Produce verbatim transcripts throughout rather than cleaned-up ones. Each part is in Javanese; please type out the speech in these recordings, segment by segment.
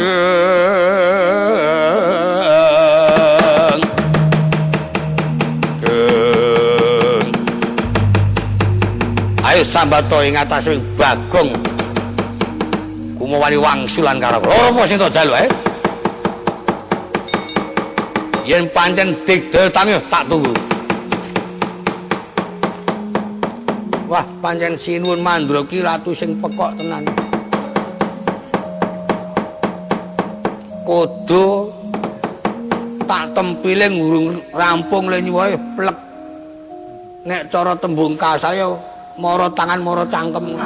Ayo sambato ing atase Bagong kumawani wangsulan karo loro apa sing tak jaluk ae yen pancen digdel tangi tak tunggu wah pancen sinuwun Mandra ki ratu sing pekok tenan kodo tak tempiling urung rampung le nyuwuhe plek nek cara tembung kasaya mara tangan mara cangkem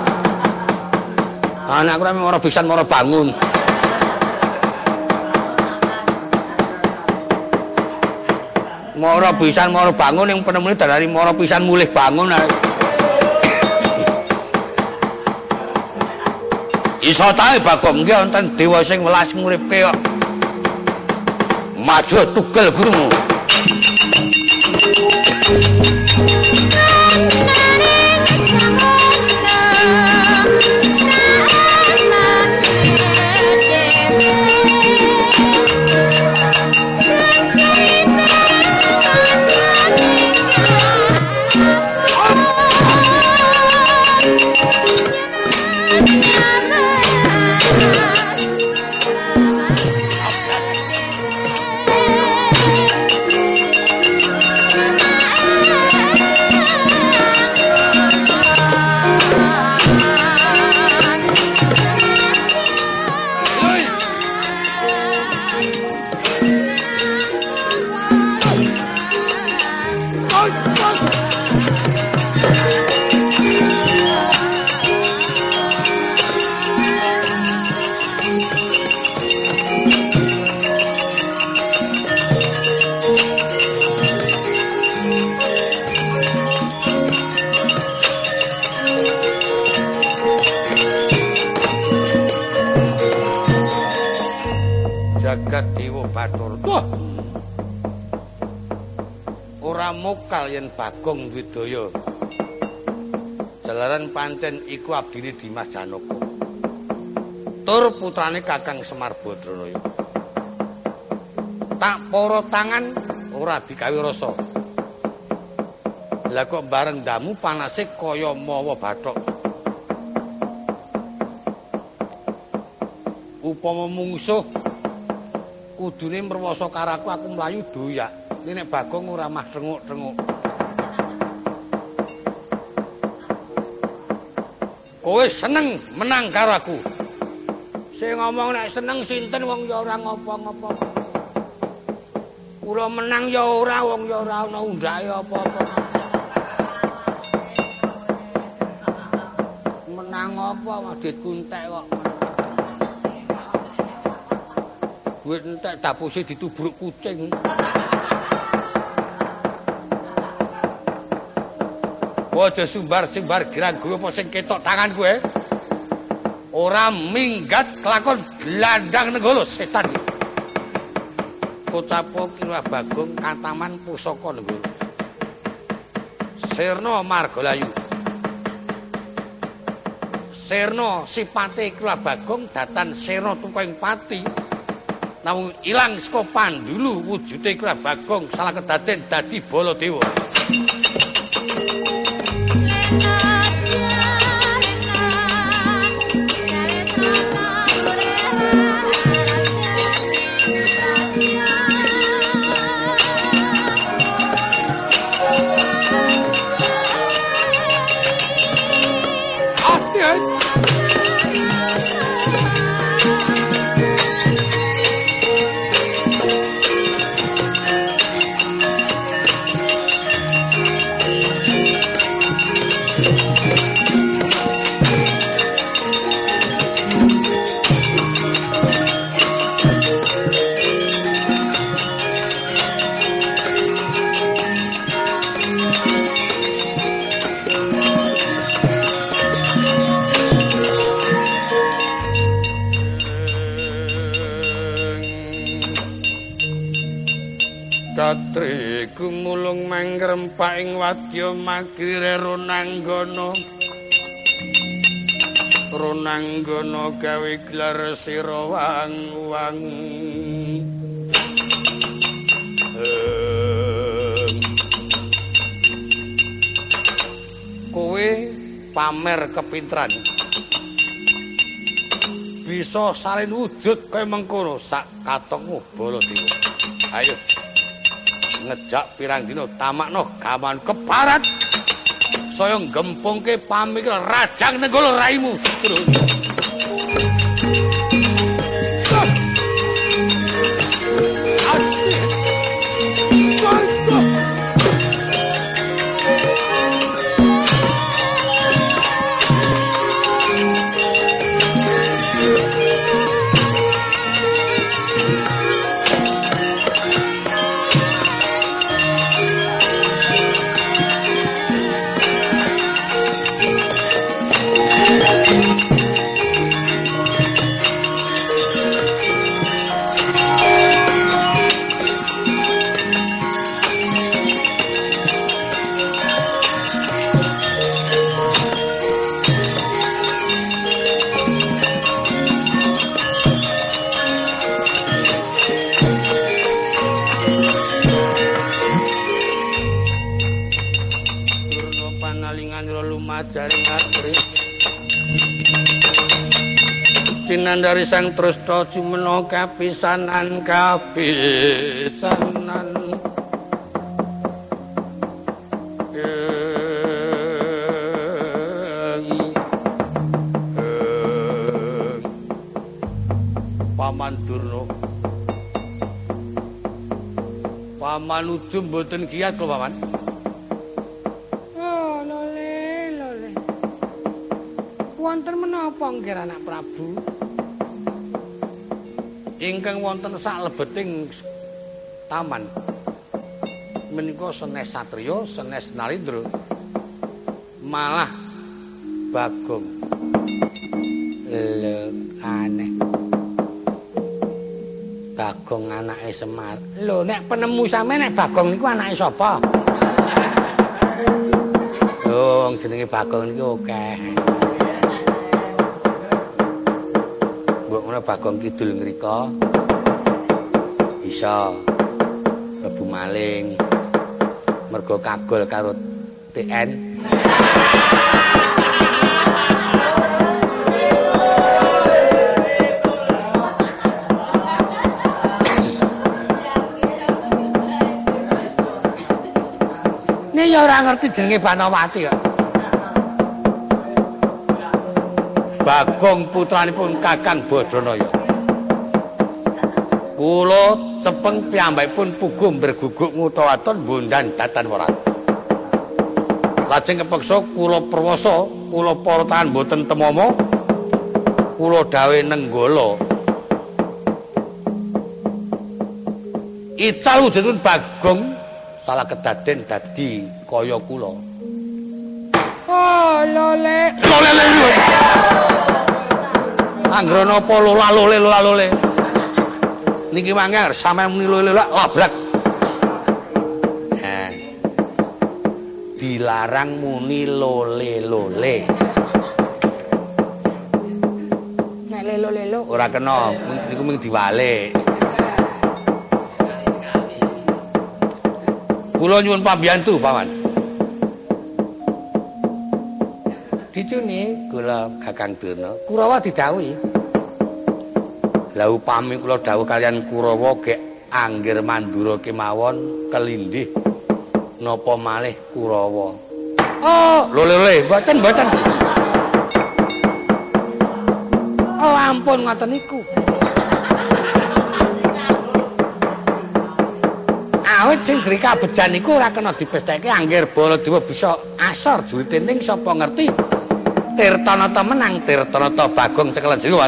anak ora mara pisan mara bangun mara pisan mara bangun yang penemune dari mara pisan mulih bangun iso tae Bagong nggih wonten dewa sing welas nguripke kok maju tugel gurumu jagat Dewa Bathara. Wah. Ora mokal yen Bagong Widaya. Jalaran pancen iku abdine Dimas Janaka. Tur putrane Kakang Semar Badranaya. Tak para tangan ora digawe rasa. Lah kok bareng ndamu panase kaya mawa bathok. Upama mungsuh kudune mrewasa karaku aku mlayu doyak. Nek Bagong ora mah trenguk-trenguk. Kowe seneng menang karo aku. Sing ngomong nek seneng sinten wong ya ora ngopo-ngopo. Kula menang ya ora wong ya ora ana undhake apa-apa. Menang apa madit kuntek kok. Duit entek dapuse ditubruk kucing. Aja sumbar-sumbar girang-guru apa sing ketok tangan kowe. Ora minggat kelakon glandang nenggala setan. Kocapo kira Bagong kataman pusaka nenggala. Sirna Margalayu. Sirna sipate kira Bagong datan sirna tukaing pati. Namung ilang saka pandulu wujude kira Bagong salah kedaden dadi Baladewa. Katri gumulung mangrempak ing wadya magire runanggana Purnanggana gawe gelar sira wang-wang kowe pamer kepinteran bisa salin wujud kaya mengkono sak katongmu Baladewa. Ayo ngejak pirang dina tamakno gaman kebarat saya gempungke pamikir rajang nenggala raimu. Cinandari sang Trusna cumena kapisanan kapisanan Paman Durna Paman ujum mboten kiat kok Paman. Oh lole lole wonten menapa nggih anak Prabu ingkang wonten saklebeting taman menika senes satriya senes narendra malah Bagong lho aneh Bagong anake Semar lho nek penemu sampe nek Bagong niku anake sapa lho wong jenenge Bagong niku akeh Bagong Kidul ngrika isa mlebu maling mergo kagol karo T N Nek ya ora ngerti jenenge Banawati kok Bagong putranipun Kakang Badranaya. Kula cepeng piyambakipun puguh berguguk ngutawaton bondan datan warat. Lajeng kepeksa kula perwasa, kula para tahan boten temama, kula dawuh nenggala. Ical wujudipun Bagong salah kedaden dadi kaya kula. Oh, lole. Lole lole. Anggrana apa lola lole lola lole. Niki mangke sampeyan muni lole labrak. Nah. Dilarang muni lole lole. Nek lelo lelo ora kena, niku mung diwalik. Kula nyuwun pambiyantu, Paman. Dicune kula Kakang Durna, Kurawa didhawuhi. Lah upami kula dawuh kalian Kurawa gek anggir Mandura kemawon kelindih napa malih Kurawa. Oh, lho-lho, mboten mboten. Oh, ampun ngoten niku. Awit sing jri kabejan niku ora kena dipestheke anggir Baladewa bisa asor juritening sapa ngerti. Tirtanata menang, Tirtanata Bagong cekelen jiwan.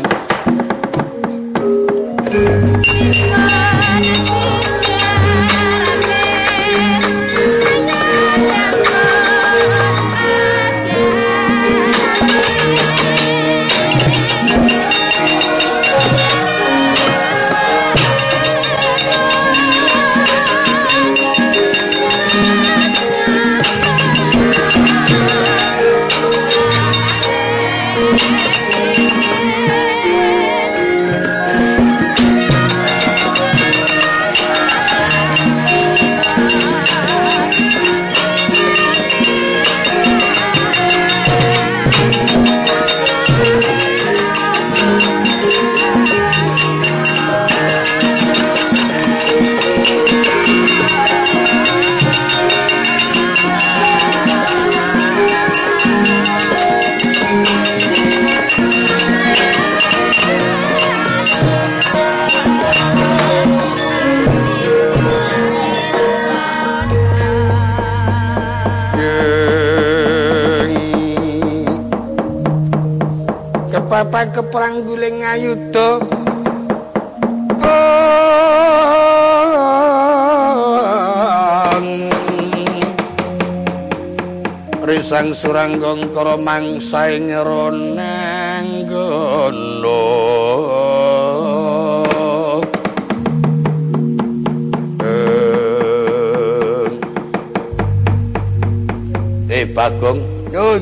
Thank you. Kepapan keperang guling ngayuda Risang suranggong karo mangsae ngeroneng gono Eh Bagong nyun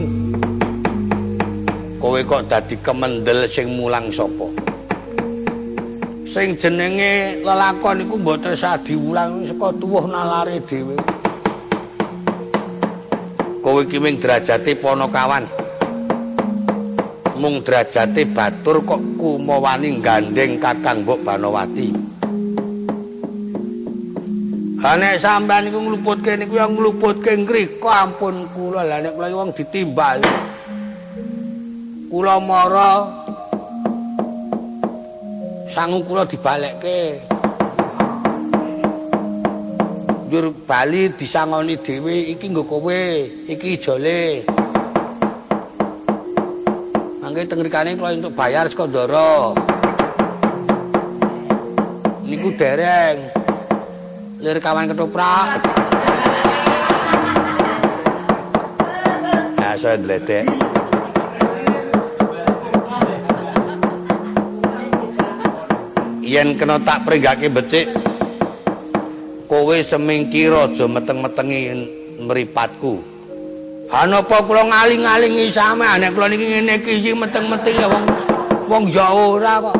kowe kok dadi kemendel sing mulang sapa sing jenenge lelakon iku mboten sadi wulang saka tuwuh nalare dhewe kowe iki ming derajate Panakawan mung derajate batur kok kumawani gandeng Kakang Mbok Banowati nek sampean iku ngluputke niku ya ngluputke ngrika ampun kula lha nek kula wong ditimbal kula mara sangu kula dibalekke njur bali disangoni dhewe iki nggo kowe iki ijole mangke teng rikane kula entuk bayar saka ndara niku dereng lir kawan ketoprak nah saya dledek yen kena tak pringgake becik kowe semingkir aja meteng-metengi mripatku hanapa kula ngaling-alingi sampean nek kula niki ngene iki meteng-metengi wong wong Jawa ora kok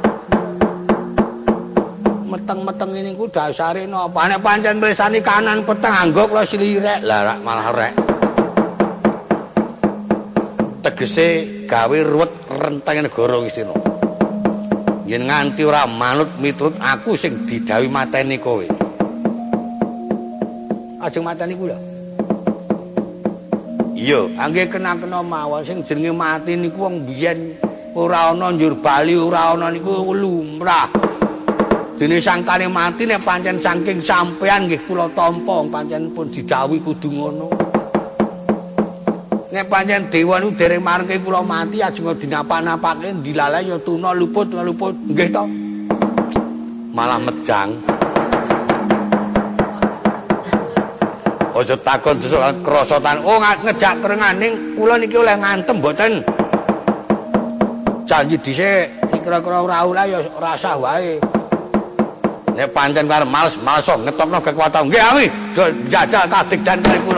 meteng-meteng niku dasare napa nek pancen mresani kanan peteng anggo kula slirek lah malah rek tegese gawe ruwet renteng negara Wisnu yen nganti ora manut miturut aku sing didhawuhi mateni kowe ajeng mateni kula iya angge kena-kena mawon sing jenenge mati niku wong biyen ora ana njur bali ora ana niku lumrah dene sangkane mati nek pancen saking sampean nggih kula tampa pancen pun didhawuhi kudu ngono nek pancen dewa niku dereng marengke kula mati ajeng dinapa-napake dilalae ya tuna luput luput nggih to malah mejang aja takon desuk krosotan oh ngejak kerenganing kula niki oleh ngantem mboten janji dhisik kira-kira ora oleh ya rasah wae nek pancen karo males-males ngetokno kekuatan nggih ami jajal kadik dan kali kula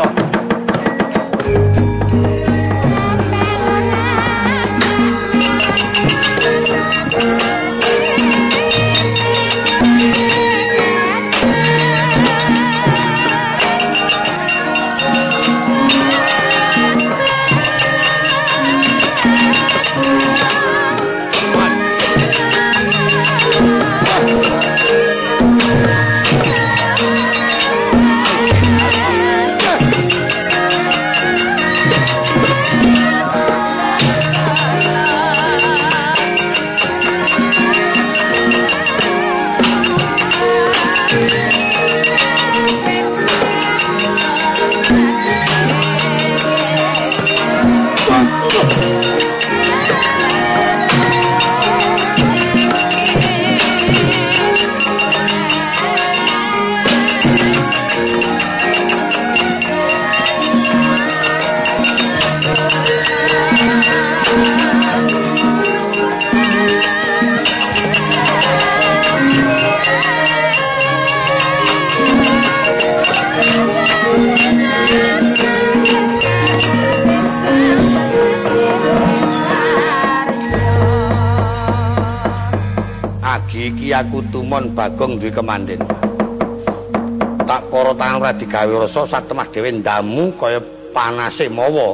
iki aku tumon Bagong duwe kemandhen tak para tangan ora digawe rasa satemah dhewe ndamu kaya panase mawa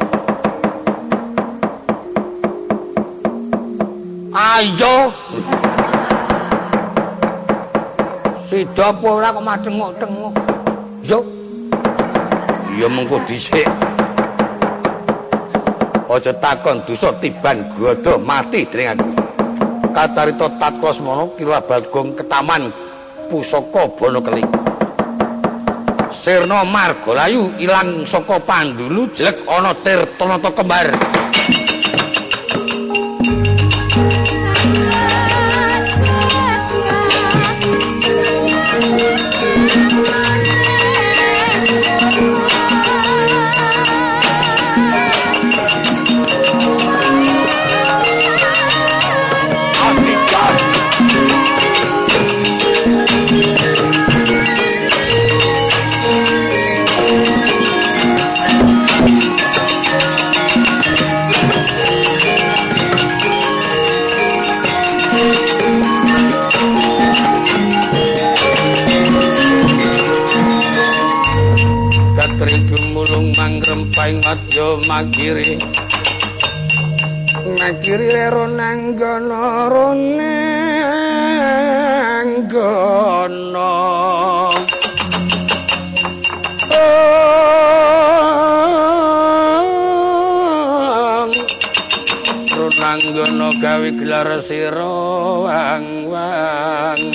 ayo sida apa ora kok madengok-dengok yo ya mengko dhisik aja takon dosa tiban godo mati dening aku kacarita tatkala kira Bagong ketaman pusaka Banakeling Sirna Margalayu ilang saka Pandulu jelek ana Tirtanata kembar madya makiri makiri rero nanggono rone anggono Runanggono gawe gelar sira wang-wang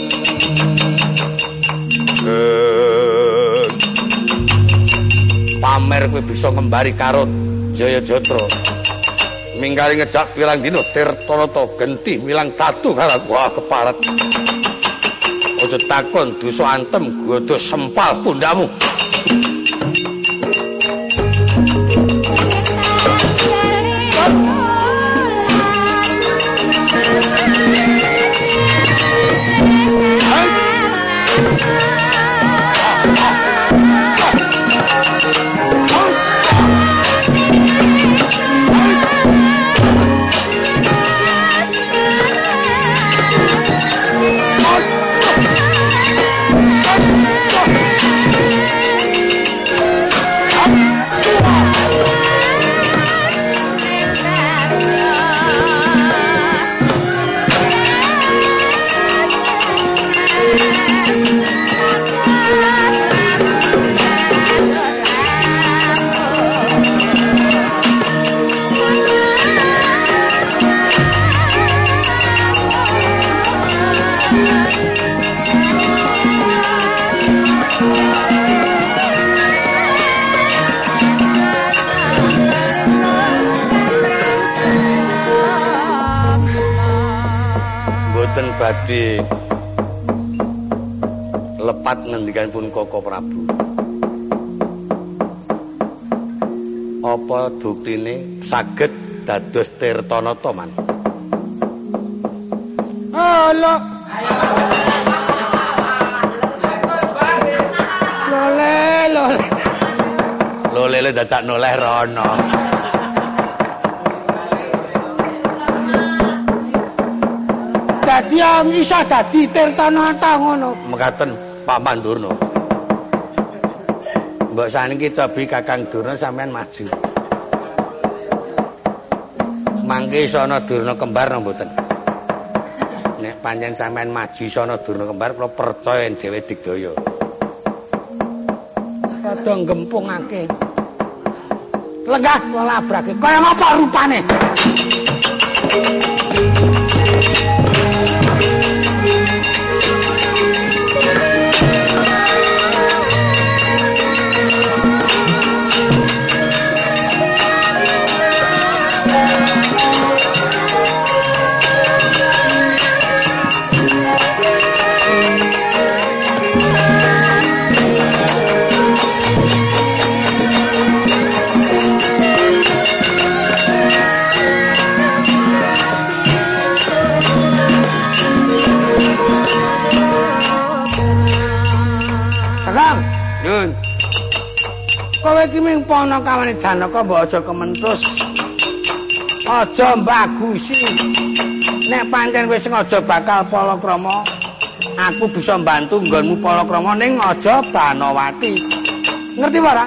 pamer kowe bisa ngembari karo Jayajatra minggali ngejak pilang dina Tirtanata genti milang tatu karo wah kepalet aja takon dosa antem godo sempal pundhamu badhe lepat ngendikanipun Koko Prabu. Apa buktine saged dados Tirtanata man? Halo. Lole lole. Lole dadak noleh rono. Dadi iso dadi Tirtanata ngono. Mekaten Pak Pandurna. Mbok saniki cobi Kakang Durna sampean maju. Mangke sono Durna kembar napa mboten? Nek pancen sampean maju sono Durna kembar kula percaya dhewe digdaya. Padha ngempungake. Lenggah kula labrake. Kaya ngapa rupane? Kowe iki ming ponokawane Janaka mbok aja kementus. Aja mbagusi. Nek pancen wis sengaja bakal palakrama, aku bisa mbantu nggonmu palakrama ning aja Banawati. Ngerti ora?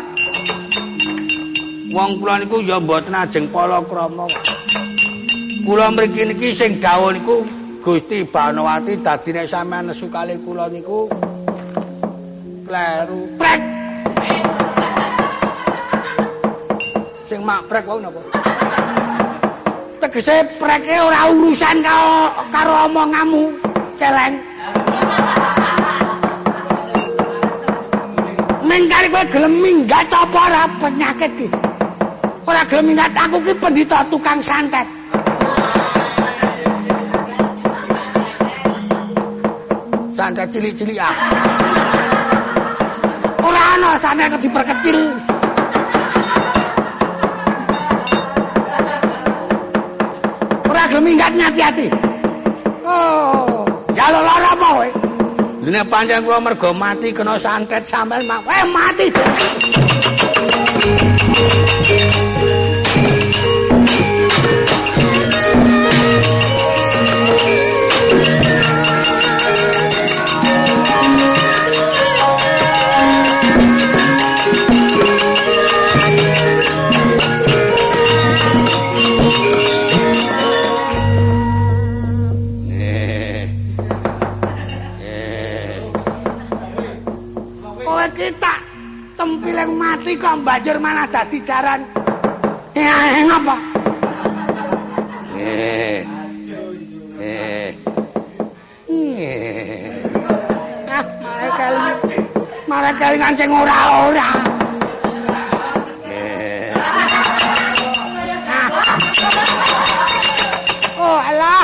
Wong kula niku ya mboten ajeng palakrama. Kula mriki niki sing dawuh niku Gusti Banawati dadi nek sampeyan nesu kalih kula niku kleru. Prek. Sing mak prek wae napa? Tegese preke ora urusan karo karo omonganmu, celeng. Mengkari kowe gelem minggat apa ora penyakit iki? Ora gelem minggat aku ki pendhita tukang santet. Santet cilik-cilik ah. Ora ana santet diperkecil. Minggat hati-hati. Oh, jalo lara apa kowe? Nek pancen kula mergo mati kena santet sampean mak. Eh mati. Tempiling mati kok banjur malah dadi jaran. Eh, ngapa? Eh. Eh. Eh. Ah, malah kali. Malah kelingan sing ora-ora. Eh. Ah. Oh, alah.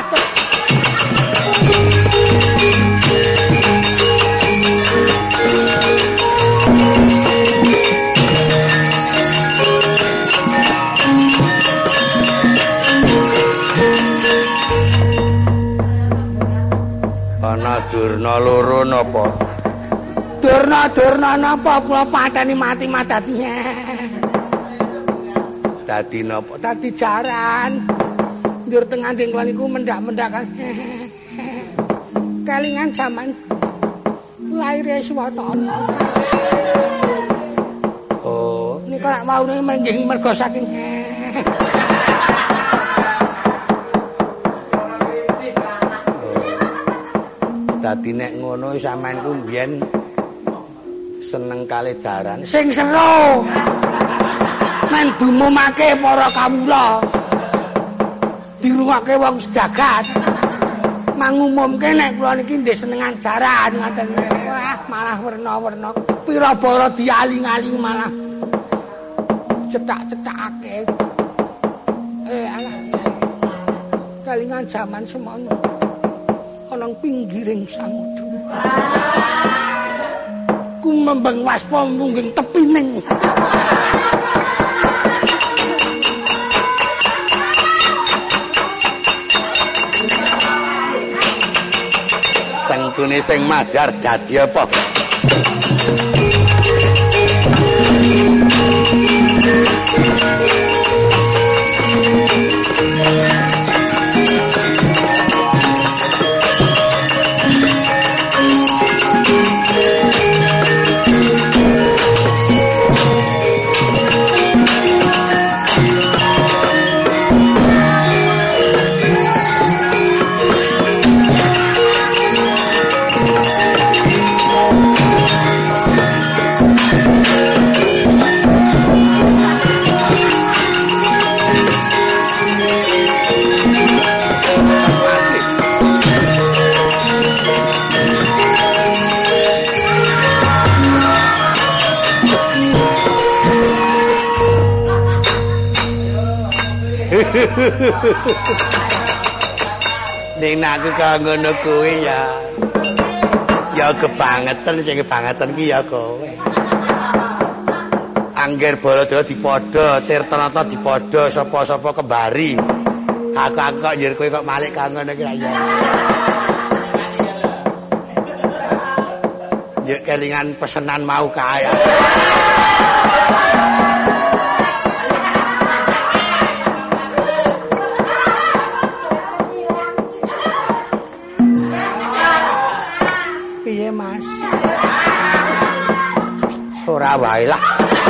Ana durna loro napa? Durna-durna napa kula pateni mati madati. Dadi napa? Dadi jaran. Ndur tengah nding kula niku mendak-mendak. Kelingan jaman laire Swatana. Oh, niku lak maune menggih mergo saking dadi nek ngono sampean ku mbiyen seneng kali jaran. Sing seru. Men dumumake para kawula. Dirungake wong sejagat. Mangumumke nek kula niki nggih senengan jaran ngoten. Wah, malah werna-werna. Pira bara dialing-aling malah cetak-cetakake. Eh, alah. Kalingan jaman semono. Nang pinggiring samudra kumembeng waspa mungging tepining sengkune sing majar dadi apa? Ning aku karo ngono kuwi ya. Ya kebangetan sing kebangetan ki ya kowe. Angger Baladara dipadha, Tirtanata dipadha, sapa-sapa kembari. Aku-aku kok njer kowe kok malik karo ngono ki ya. Ya kelingan pesenan mau kae. Ora wae lah.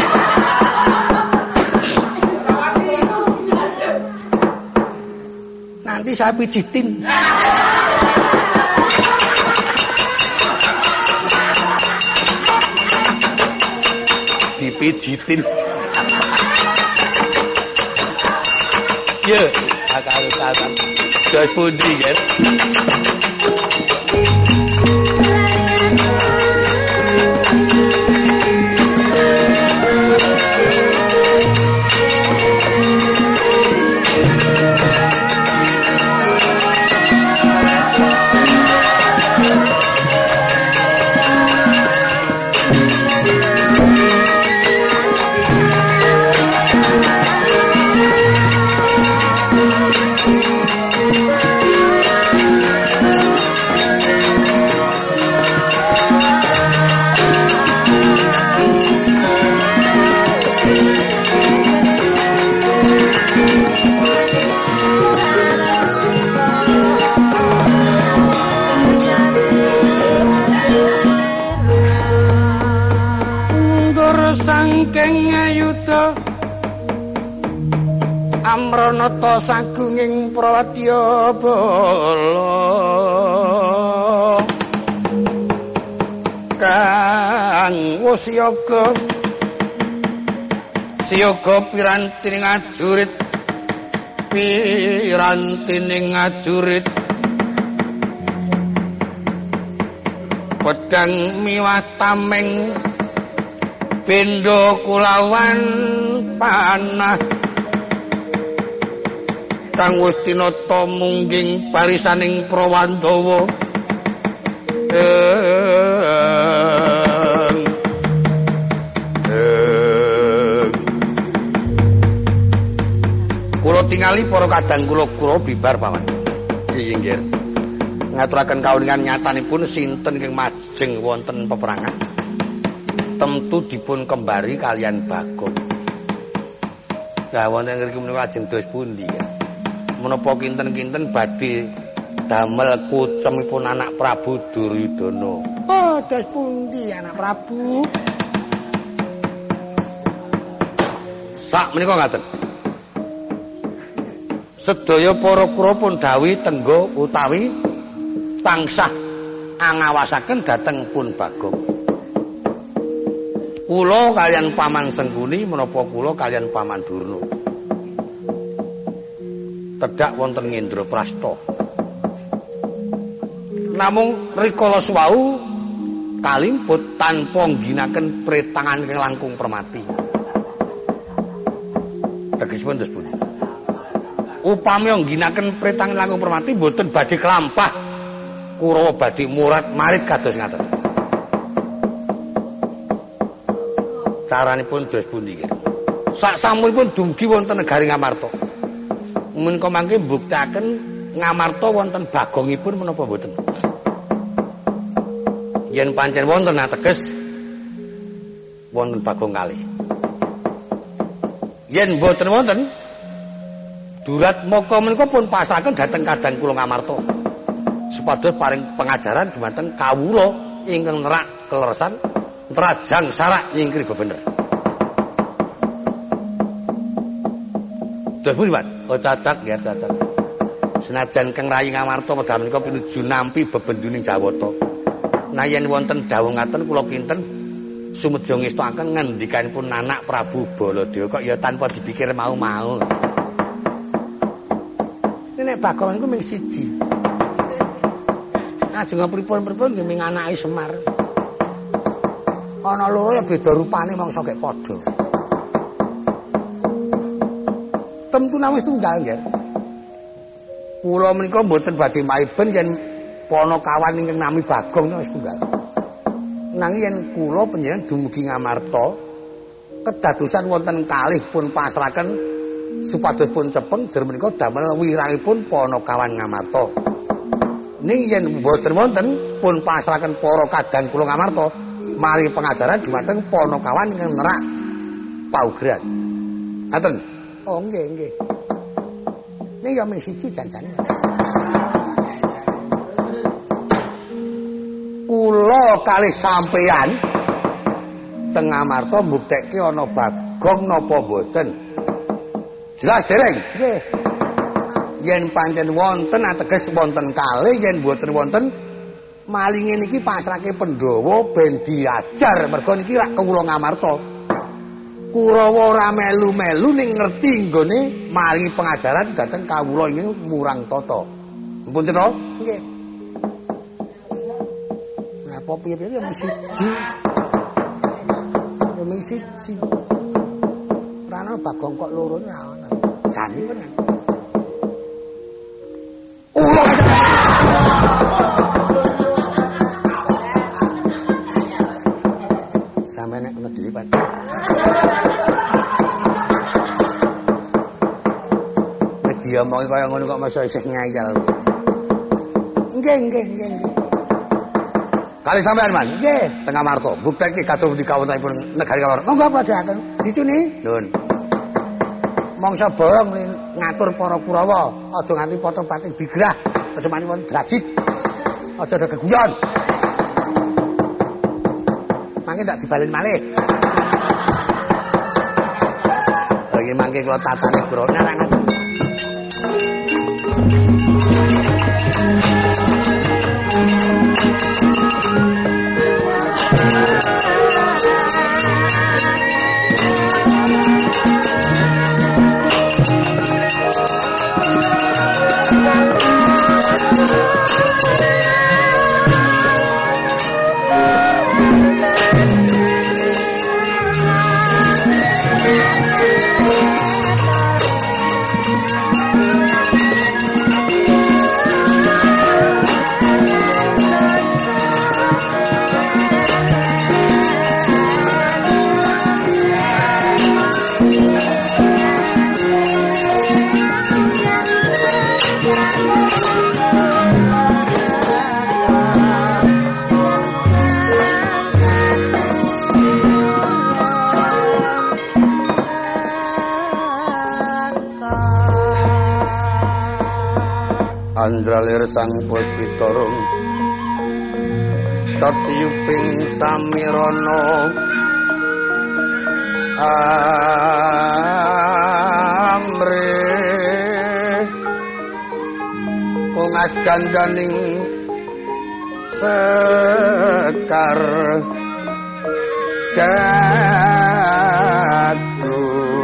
Nanti saya pijitin. Dipijitin. Ye, akal-akalan. Dos pundi, kan? Amranata sagunging Pratyabala kang wus yoga siyoga pirantining ajurit pirantining ajurit pedang miwah tameng pindha kulawan panah kang wis tinata mungging barisaning Prawandawa kula tingali para kadang kula kula bibar paman nggih nggih ngaturaken kauningan nyatanipun sinten ingkang majeng wonten peperangan tentu dipun kembari kalian Bagong lah wonten ngriki menika lajeng dos pundi ya menapa kinten-kinten badhe damel kucemipun anak Prabu Duryudana oh dos pundi anak Prabu sak menika ngaten sedaya para kura pun dawuh tenggo utawi tansah angawasaken dhateng pun Bagong. Kula kalian Paman Sengkuni menapa kula kalian Paman Durna. Tedhak wonten Ngendraprasta. Namung rikala suwau kalimput tanpa ngginaken pretangan ingkang langkung permati. Tegesipun dos pundi? Upami ngginaken pretang langkung permati mboten badhe kelampah Kurawa badhe murat marit kados ngaten. Caranipun dos pundi nggih. Sak samunipun dumugi wonten negari Ngamarta. Menika mangke mbuktekaken Ngamarta wonten Bagongipun menapa mboten? Yen pancen wonten ateges wonten Bagong kalih. Yen mboten wonten Durat Moko menika pun pasrahaken dhateng kadang kula Ngamarta. Supados paring pengajaran dumateng kawula ingkang nerak kleresan, nrajang sarak nyingkri bebener. Dos pundi, Pak? Oh cacak nggih cacak. Senajan Kang Rayi Ngamarta wedal menika pinuju nampi bebenduning Jawata. Nah yen wonten dawuh ngaten kula kinten sumedya ngestokaken ngendikanipun anak Prabu Baladewa kok ya tanpa dipikir mau-mau. Nek Bagong niku mung siji. Ajeng pripun-pripun nggih ming anake Semar. Ana loro ya beda rupane mangsa kek padha. Temtu namung tunggal nggih. Kula menika mboten badhe maiben yen ponokawan ingkang nami Bagong wis tunggal. Nanging yen kula panjenengan dumugi Ngamarta kedadosan wonten kalih pun pasrahaken supados pun cepeng jer menika damel wirangipun Ponokawan Ngamarta. Ning yen mboten wonten pun pasrahaken para kadang kula Ngamarta mari pengajaran dumateng Ponokawan ingkang nerak paugeran. Ngaten. Oh nggih nggih. Ning ya mung siji janjane. Kula kalih sampeyan teng Ngamarta mbuktekke ana Bagong napa mboten? Jelas dereng? Nggih. Yen pancen wonten ateges wonten kalih, yen mboten wonten malinge niki pasrahke Pandhawa ben diajar mergo niki rak kawula Ngamarta. Kurawa ora melu-melu ning ngerti nggone maringi pengajaran dhateng kawula ing murang tata. Mumpun cetha? Nggih. Napa piye-piye ya mung siji. Ya mung siji. Ora ana Bagong kok loro ora ana. Jane tenan. Oh. Sampe nek kena diri, Pak. Nek diomongi kaya ngono kok masa isih ngayal. Nggih, nggih, nggih, nggih. Kali sampean, Man. Nggih, tengah Marto. Bukteke kados di kawontenipun negari Kawar. Monggo padahaken. Dicuni. Nun. Mangsa borong ngatur para Kurawa, aja nganti padha pating digrah, aja mani wonten drajit. Aja ada keguyon. Mangke tak dibalen malih. Lagi mangke kula tatane Kurawa nang ngaten. Andralir sang puspitorung tatyuping samirana amre kongas gandaning sekar datu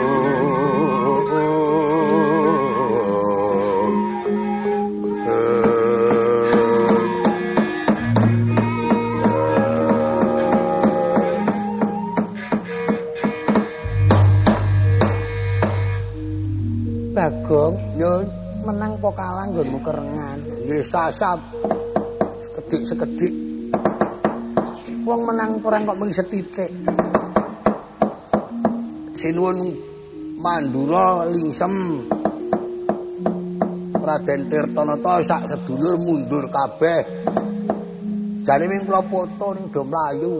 Bagong, yo menang po kalah nggonmu kerengan. Nggih sasat. Sekedik-sekedik. Wong menang perang kok mung setitik. Sinuwun Mandura lingsem. Raden Tirtanata sak sedulur mundur kabeh. Jane ming kula foto ning do mlayu.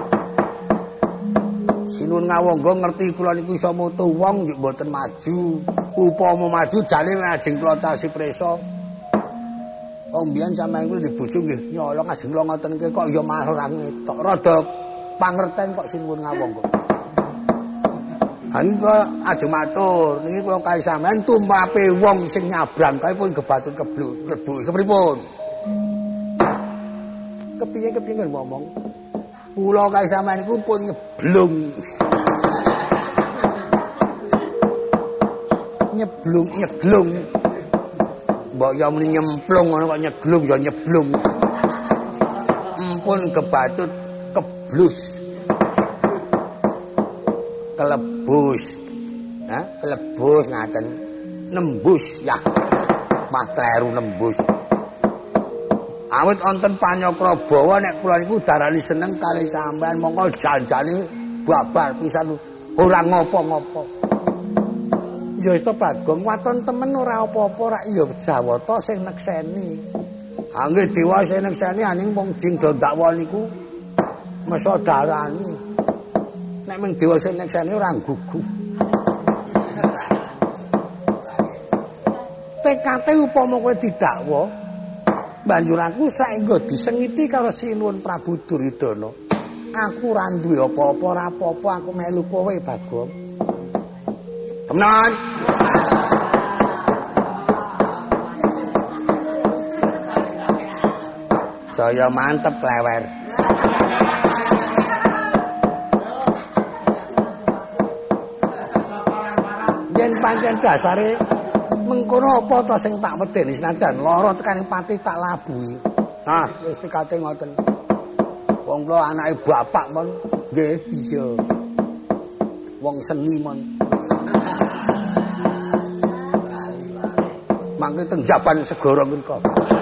Sinuwun Ngawangga ngerti kula niku iso moto wong njuk mboten maju. Upama maju jane ajeng kula casi presa. Wong mbiyen sampeyan kuwi dibojo nggih nyolong ajeng kula ngoten iki kok ya malah ngetok. Rada pangerten kok sinuwun Ngawangga. Ani kula ajeng matur, niki kula kae sampeyan tumpape wong sing nyabrang kae pun gebatut keblu, klebu kepripun? Kepiye-kepiye kan ngomong. Kula kae sampeyan iku pun nyeblung. Nyeblung nyeglung. Mbok ya muni nyemplung ngono kok nyeglung ya nyeblung. Empun kebatut keblus. Kelebus. Hah? Kelebus ngaten. Nembus ya. Mah kleru nembus. Awit wonten Panyakra Bawa nek kula niku darani seneng kalih sampean mongko janjane babar pisan ora ngopo-ngopo. Ya itu Bagong waton temen ora apa-apa rak ya Jawata sing nekseni. Ha nggih dewa sing nekseni aning wong jing do dakwa niku mesa darani. Nek mung dewa sing nekseni ora gugu. Tekate upama kowe didakwa banjur aku saengga disengiti karo Sinuwun Prabu Duryudana. Aku ora duwe apa-apa, ora apa-apa aku melu kowe Bagong. Temenan. Saya mantep klewer. Yen pancen dasare mengkono apa to sing tak medeni senajan lara tekaning pati tak labuhi. Nah, wis tekate ngoten. Wong kula anake bapak mon nggih iya. Wong seni mon. Mangke teng Jaban Segara mriku.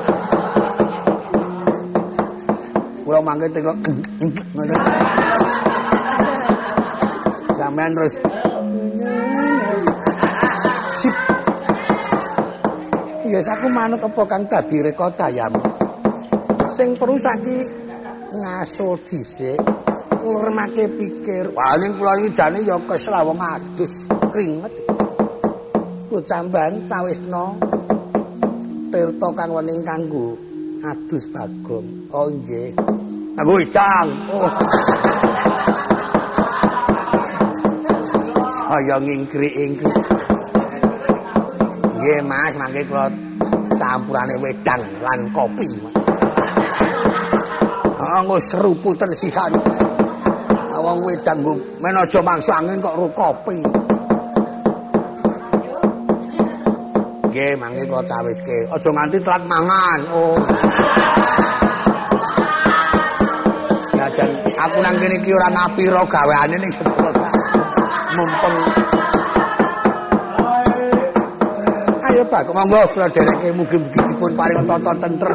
Kula mangke teng ngoten. Sampeyan terus sip. Ya aku manut apa kang dadi reka dayam. Sing perlu saiki ngaso dhisik, nglemake pikir. Wah ning kula iki jane ya kesel wong adus, kringet. Kocamban Cawisna Tirta kang wening kanggo adus Bagong. Oh nggih. Kanggo idang. Oh. Saya ngingkri-ingkri. Nggih Mas, mangke kula campurane wedang lan kopi. Ah nggo seruputen sisan. Wong wedang nggo men aja mangsa angin kok ro kopi. Nggih, mangke kula cawiske. Aja nganti telat mangan. Oh. Lajan aku nang kene iki ora ngapira gaweane ning sedaya. Mumpung ayo Pak, monggo kula dereke mugi-mugi dipun paring tata tentrem.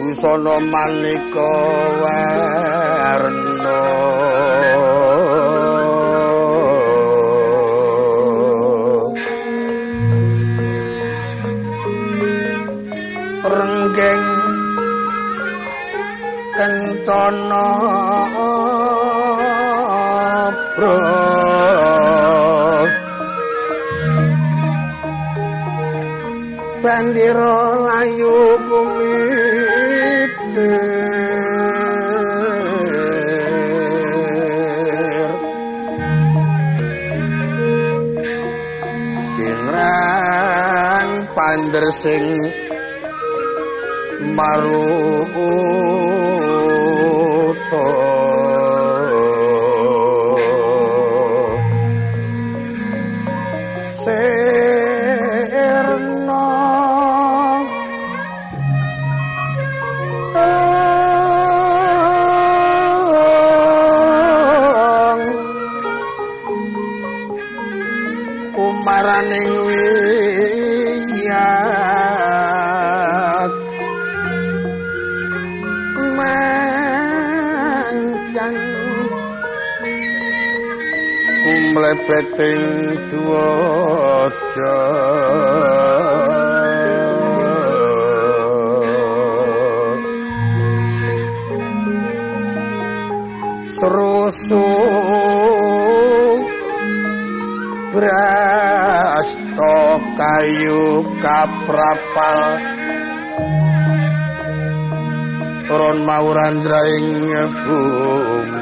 busana manika warna renggeng kencana bro bandira layu kumitir sinrang pander sing maruto serna umaraning wiyat manjan kumlebeting duwaja serusu brasta kayu kaprapal turun mawuran jraing bumi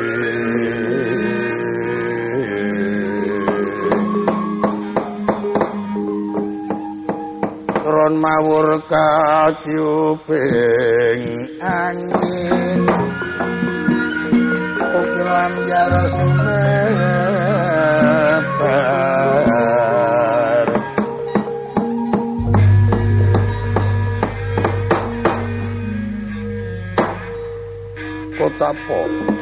turun mawur katyuping angin ukiran jara sumebar Kotapo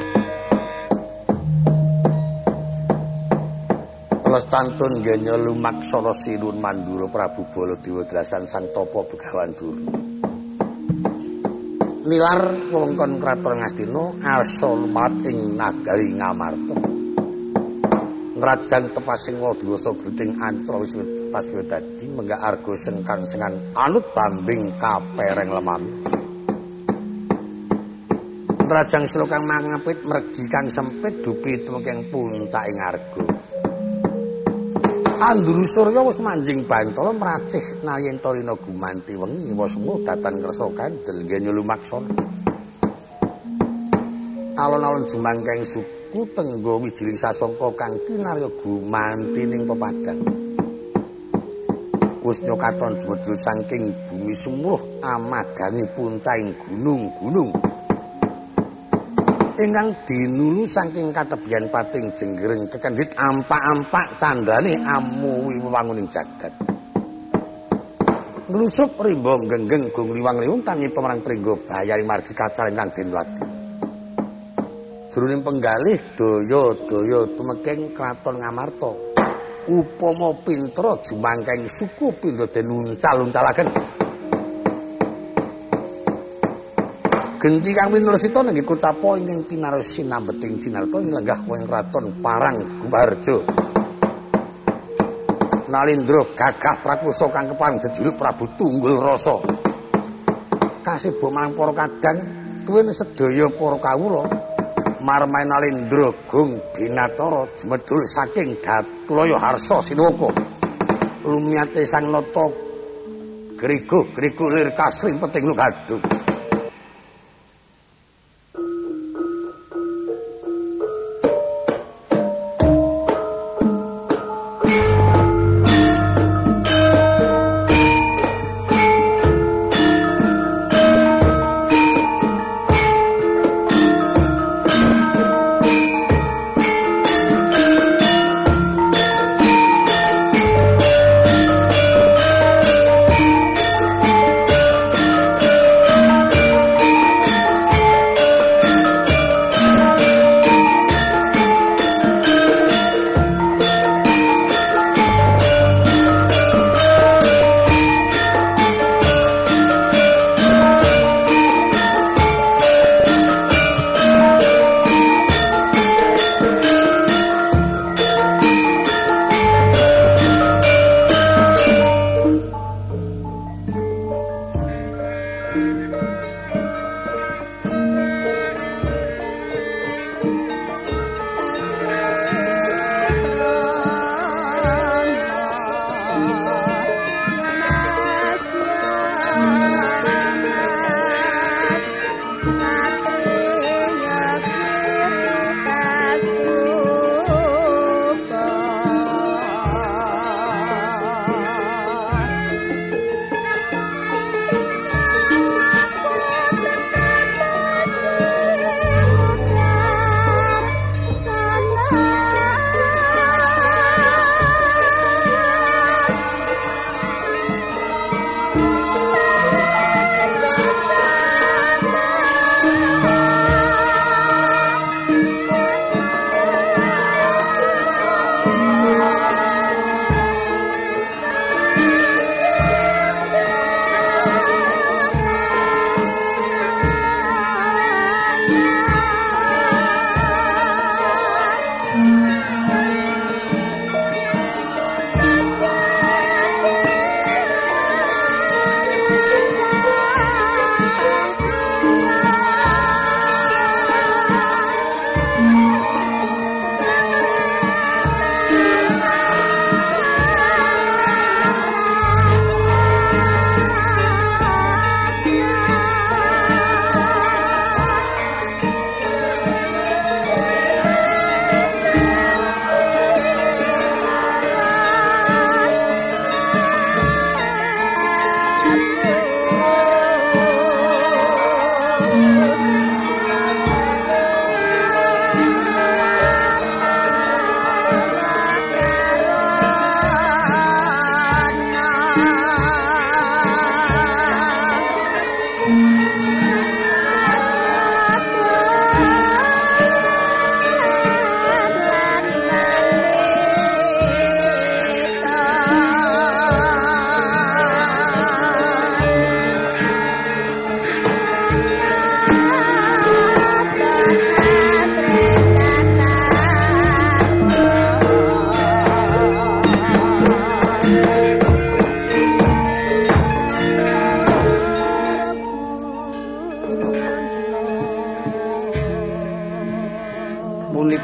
Lestantun genya lumaksana Sinun Mandura Prabu Baladewa Drasan Sang Tapa Begawan Durna nilar wewengkon kraton Ngastina arsa lumat ing nagari Ngamarta ngrajang tepasing wadewasa gluting ancra wis pas dadi menggak arga sengkang sengan anut bambing kapereng lemam ngrajang slokang mangapit mergi kang sempit dupi tumengking puncaking arga Anduru Surya wis manjing Bantala mracih nayenta rina gumanti wengi wasmu datan kersa kandel genya lumaksana alon-alon jemangkeng suku tenggo wijiling sasangka kang kinarya gumanti ning pepadang wis nyokaton jumedul saking bumi sumuruh amadani puncahing gunung-gunung ingkang dinulu saking katebian pating jenggering kekendhit ampak-ampak candane amuwi wewanguning jagat nglusup rimba genggeng gung liwang-liwung tanpa marang pringga bayaring margi kacaring kang den wadi jroning penggalih daya-daya tumengking kraton Ngamarta upama pintra jumangkeng suku pindha den uncal-uncalaken genti kang winursita nenggih Kocapo ingkang pinaros sinambeting cinarta ing lenggah wong kraton Parang Gumarja Nalindra gagah prakusa kang kepareng jejuluk Prabu Tunggul Rasa kasebo marang para kadang tuwin sedaya para kawula marmai Nalindra Gung Binatara jemedul saking Datlaya Harsa Sinuwaka lumiyate Sang Nata Grigo-grigo lir kasring peting lugadung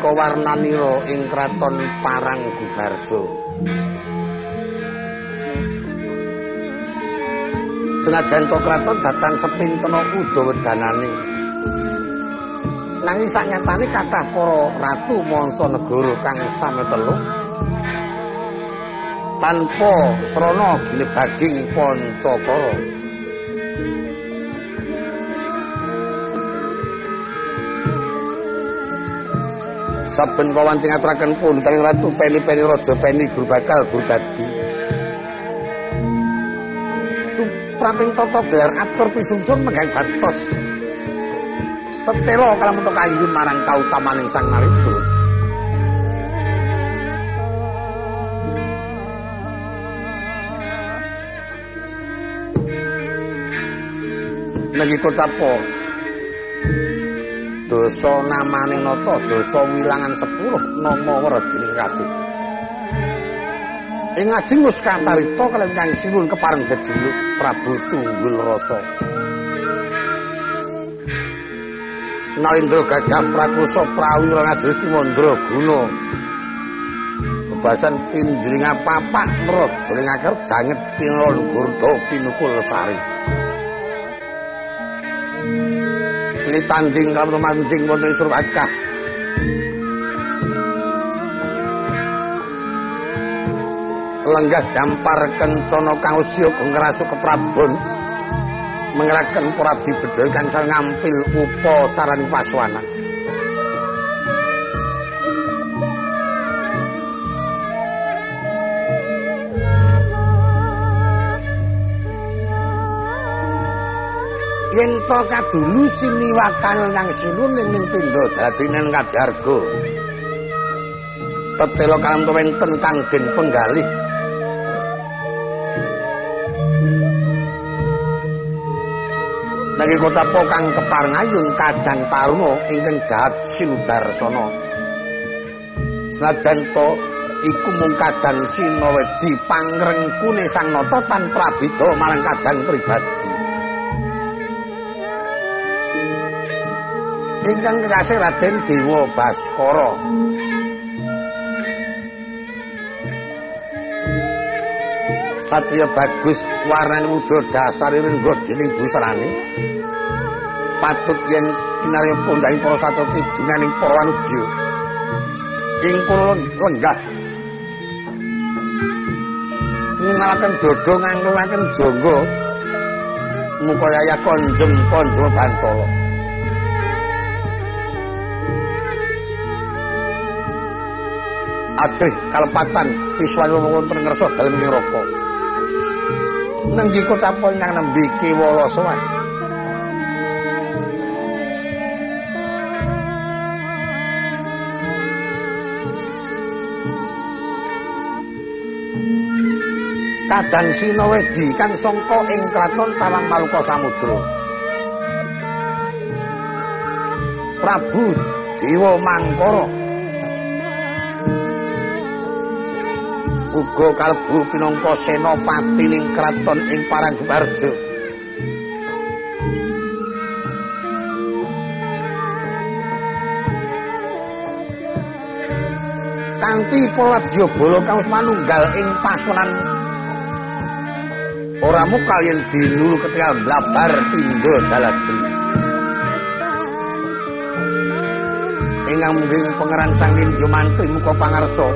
nalika warnanira ing kraton Paranggubarjo. Senajan to kraton datang sepintena Udawedanane. Nanging sanyatane kathah para ratu mancanegara kang sami telu tanpa srana ginebaging Pancakara. Saben pawancing aturaken pun Kanjeng Ratu Peni-peni Raja Peni Guru bakal Guru dadi. Pramping tata gelar atur pisungsun menggang batos. Tetela kalamun kayun marang kautamaning Sang Maridra. Nanging kocapa dosa namaning nata dosa wilangan sepuluh nama weredining kasih. Ing ajeng wis kacarita kaliyan Kang Sinuwun kepareng jejuluk Prabu Tunggul Rasa. Nalindra Gagah Prakosa prawira ngajesti Mandra Guna. Bebasan pinjuling papak mraja ing akar janget pinulun gurda pinukul sari. Litanding kalamun mancing wonten ing Surbakah. Lenggah dampar kencana kang usia ngrasuk keprabon mengerahkan para abdi bedhaya kang sang ngampil upacaraning paswana. Yen to kadulu siniwakan kang Sinuwun ning pindha Jaladinen Kadarga. Tetela kalamtu wenten kang den penggalih nanging kocapa kang kepareng ayun kadang taruna ingkang dahat sinudarsana. Senajan to iku mung kadang sinawedi pangrengkune Sang Nata tan prabeda marang kadang pribadi. Ingkang kekasih Raden Dewa Baskara. Satriya bagus warnane muda dasare rengga dening busarane. Patut yen kinarya pondhaing para satria kidunganing para wanudya. Ing kula lenggah ngalaken dodo ngangkulaken jangga muka yaya konjem konjem Bantala. Ajih kalepatan piswanipun wonten ngersa dalem neraka. Nenggi kocapa ingkang nembe kiwala sowan. Kadang Sinawedi kang sangka ing kraton Tawang Maluka Samudra. Prabu Dewa Mangkara uga kalbu pinangka senopati ning kraton ing Paranggubarjo. Kanthi Paladyabala kang wis manunggal ing pasunan ora mukal yen dinulu ketika blabar pindha Jaladri. Ingkang mungging pangeran Sang Nindya Mantri muka pangarsa.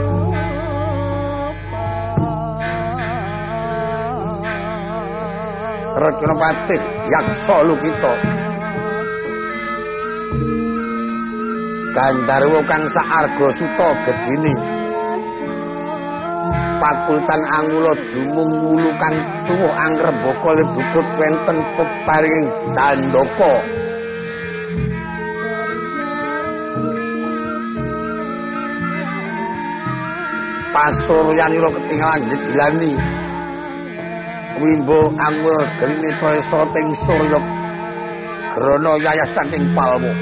Rakana Patih Yaksa Lukita. Gandharwa kang saarga suta gedhine. Pakultan Angula dumung wulu kang tuwuh angrembaka lebukut wenten peparinging Dandaka. Pasuryanira ketinggalan digilani. Wimbo angul gerine tresra ting surya grana yayah cangking palmu.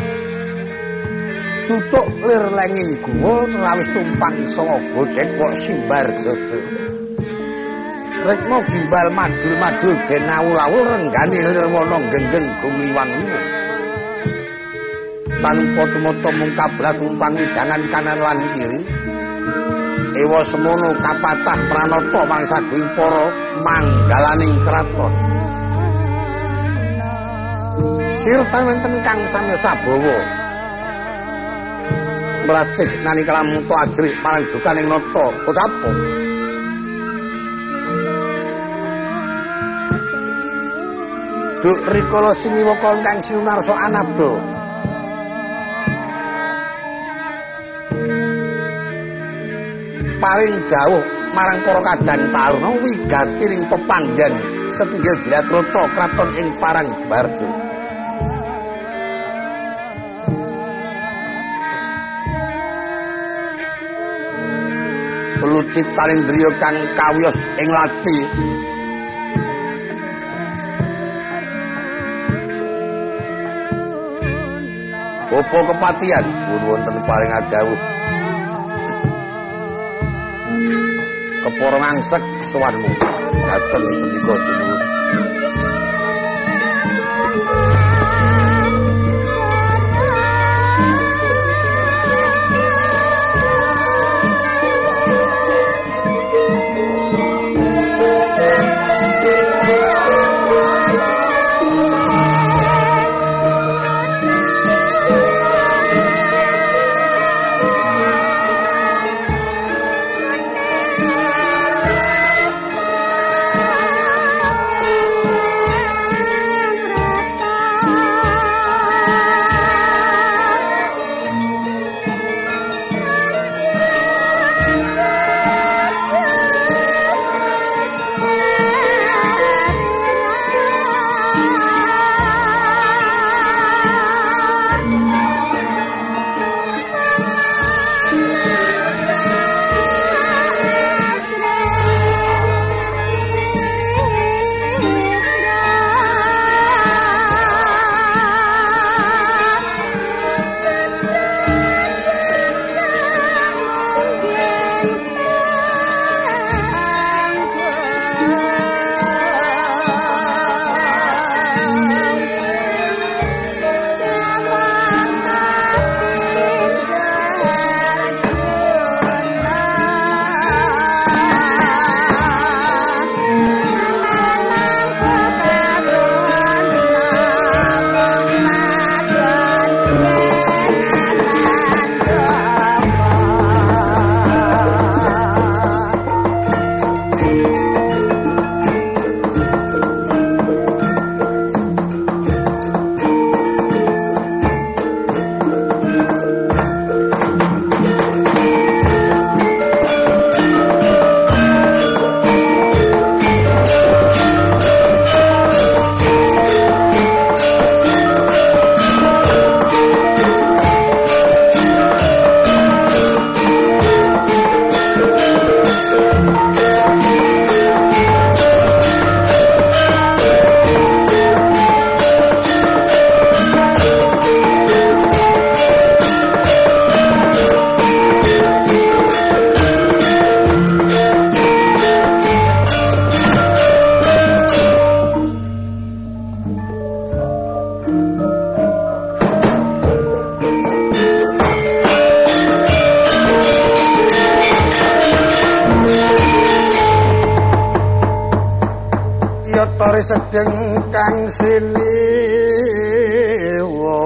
Tutuk lir lenging guwa lawis tumpang sanga godhek kok simbar jojo. Rekmo gimbal madul-madul den awul-awul renggane lir wana genggeng gumiwan. tanpa tumata mung kablat umpan widangan kanan lan kiri. Ewa semono kapatah pranata mangsaguing para manggalaning kraton. Sirtan wonten kang sami sabawa. Mracih nani kalamuta ajrik marang dukaning nata Kocapa. Duk rikala siniwaka ingkang sinunarsa anabda. Paring dawuh marang para kadang taruna wigatining pepanggan setinggil Bilatrata kraton ing Parangbarjo. Lucit Talendriya kang kawiyos ing lati Apa kepatihan pun wonten paring adawuh kepara ngangsek sowanmu dateng sendika sinuwun. Sedeng kang siliwa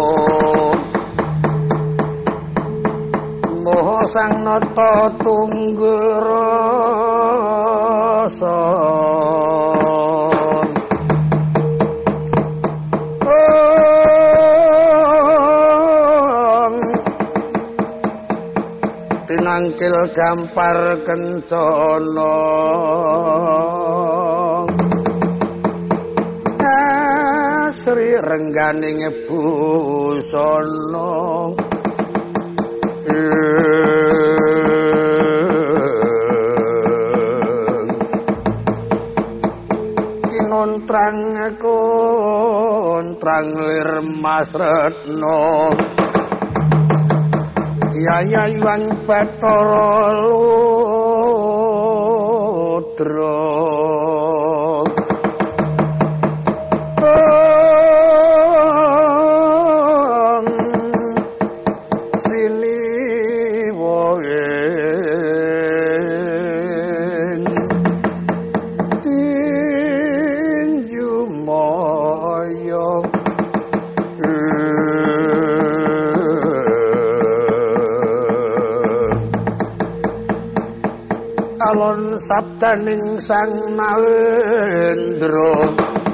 moho sang nata tunggul rasa tinangkil gampar kencana Sri rengganing busana kinontrang kontrang lir Mas Retno Yayawan Bathara Ludra sabdaning Sang Nalendra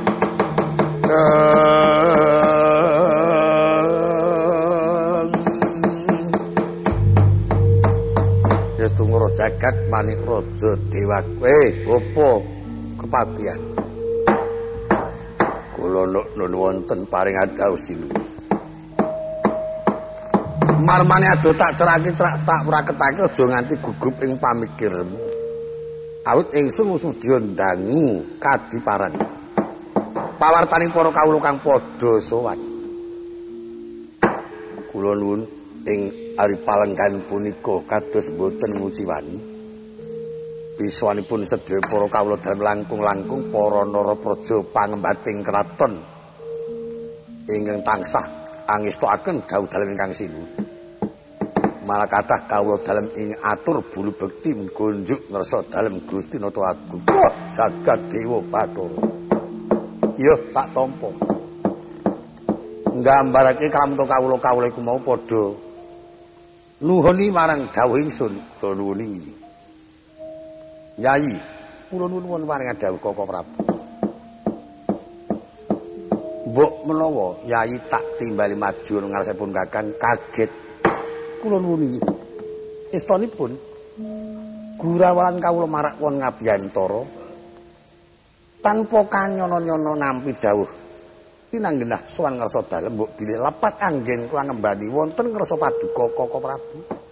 Yes tungro jagat manik raja dewa eh opo kepatihan kula nun wonten paring adhau silu marmane ado tak cerake cerak tak praketake aja nganti gugup ing pamikirmu awit ingsun sudya ndangu kadiparan pawartaning para kawula kang padha sowan kula nuwun ing ari palenggan punika kados boten nguciwani biswanipun sedaya para kawula dalem langkung-langkung para narapraja pangembating kraton ingkang tansah angestokaken dawuh dalem ingkang sinuwun malah kathah kawula dalem ing atur bulu bekti gonjuk ngersa dalem Gusti Nata Agung jagat dewa Bathara iya tak tampa nggambarake kalamta kawula-kawula iku mau padha nuhuni marang dawuh ingsun kula nuwun iki Yayi kula nuwun paring dawuh Koko Prabu mbok menawa Yayi tak timbali maju ngarsipun Kakang kaget kula nuwun iki istanipun gurawalan kawula marak won ngabiyantara tanpa kanyono-nyono nampi dawuh pinanggenah sowan ngarsa dalem mbok bilih lepat anggen kula ngembani wonten ngarsa paduka Koko Prabu